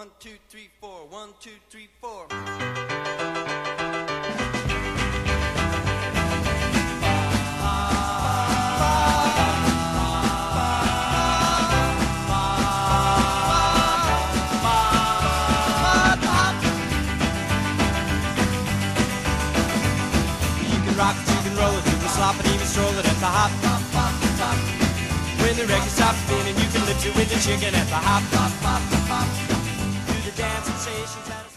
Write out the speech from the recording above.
1, 2, 3, 4. 1, 2, 3, 4. Rock it, you can roll it, you can slop it, even stroll it at the hop. When the record stops spinning, you can lift it with the chicken at the hop. Do the dance sensations.